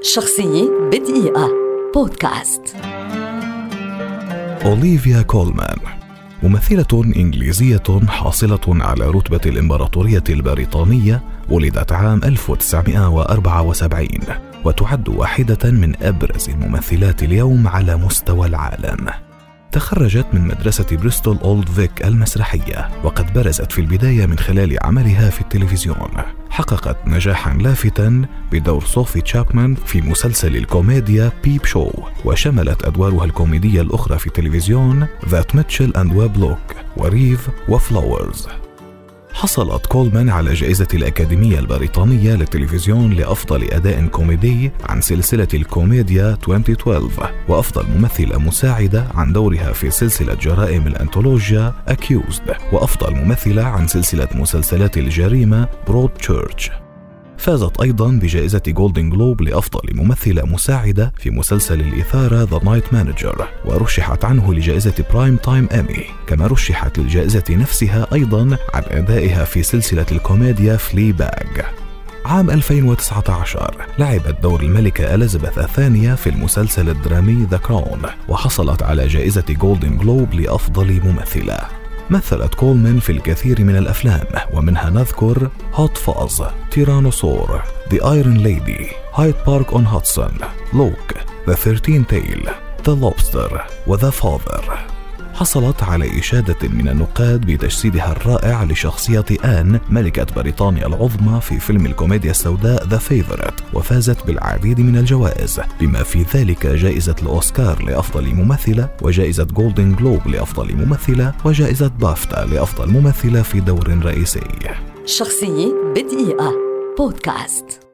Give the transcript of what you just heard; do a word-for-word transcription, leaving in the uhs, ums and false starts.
شخصية بدقيقة بودكاست. أوليفيا كولمان ممثلة إنجليزية حاصلة على رتبة الإمبراطورية البريطانية، ولدت عام ألف وتسعمائة وأربعة وسبعين وتعد واحدة من أبرز الممثلات اليوم على مستوى العالم. تخرجت من مدرسة بريستول أولد فيك المسرحية، وقد برزت في البداية من خلال عملها في التلفزيون. حققت نجاحا لافتا بدور صوفي تشابمان في مسلسل الكوميديا بيب شو، وشملت أدوارها الكوميدية الأخرى في التلفزيون ذات ميتشل أند ويب لوك وريف وفلاورز. حصلت كولمان على جائزة الأكاديمية البريطانية للتلفزيون لأفضل أداء كوميدي عن سلسلة الكوميديا ألفين واثناشر، وأفضل ممثلة مساعدة عن دورها في سلسلة جرائم الأنثولوجيا Accused، وأفضل ممثلة عن سلسلة مسلسلات الجريمة Broadchurch. فازت أيضاً بجائزة جولدن جلوب لأفضل ممثلة مساعدة في مسلسل الإثارة The Night Manager، ورشحت عنه لجائزة برايم تايم إيمي، كما رشحت للجائزة نفسها أيضاً عن أدائها في سلسلة الكوميديا فليباغ. عام ألفين وتسعة عشر لعبت دور الملكة إليزابيث الثانية في المسلسل الدرامي The Crown، وحصلت على جائزة جولدن جلوب لأفضل ممثلة. مثلت كولمان في الكثير من الأفلام، ومنها نذكر هوت فاز، تيرانوسور، The Iron Lady، Hyde Park on Hudson، لوك، The Thirteen Tail، The Lobster، وThe Father. حصلت على إشادة من النقاد بتجسيدها الرائع لشخصية آن ملكة بريطانيا العظمى في فيلم الكوميديا السوداء The Favourite، وفازت بالعديد من الجوائز، بما في ذلك جائزة الأوسكار لأفضل ممثلة، وجائزة جولدن جلوب لأفضل ممثلة، وجائزة بافتا لأفضل ممثلة في دور رئيسي. شخصية بدقيقة بودكاست.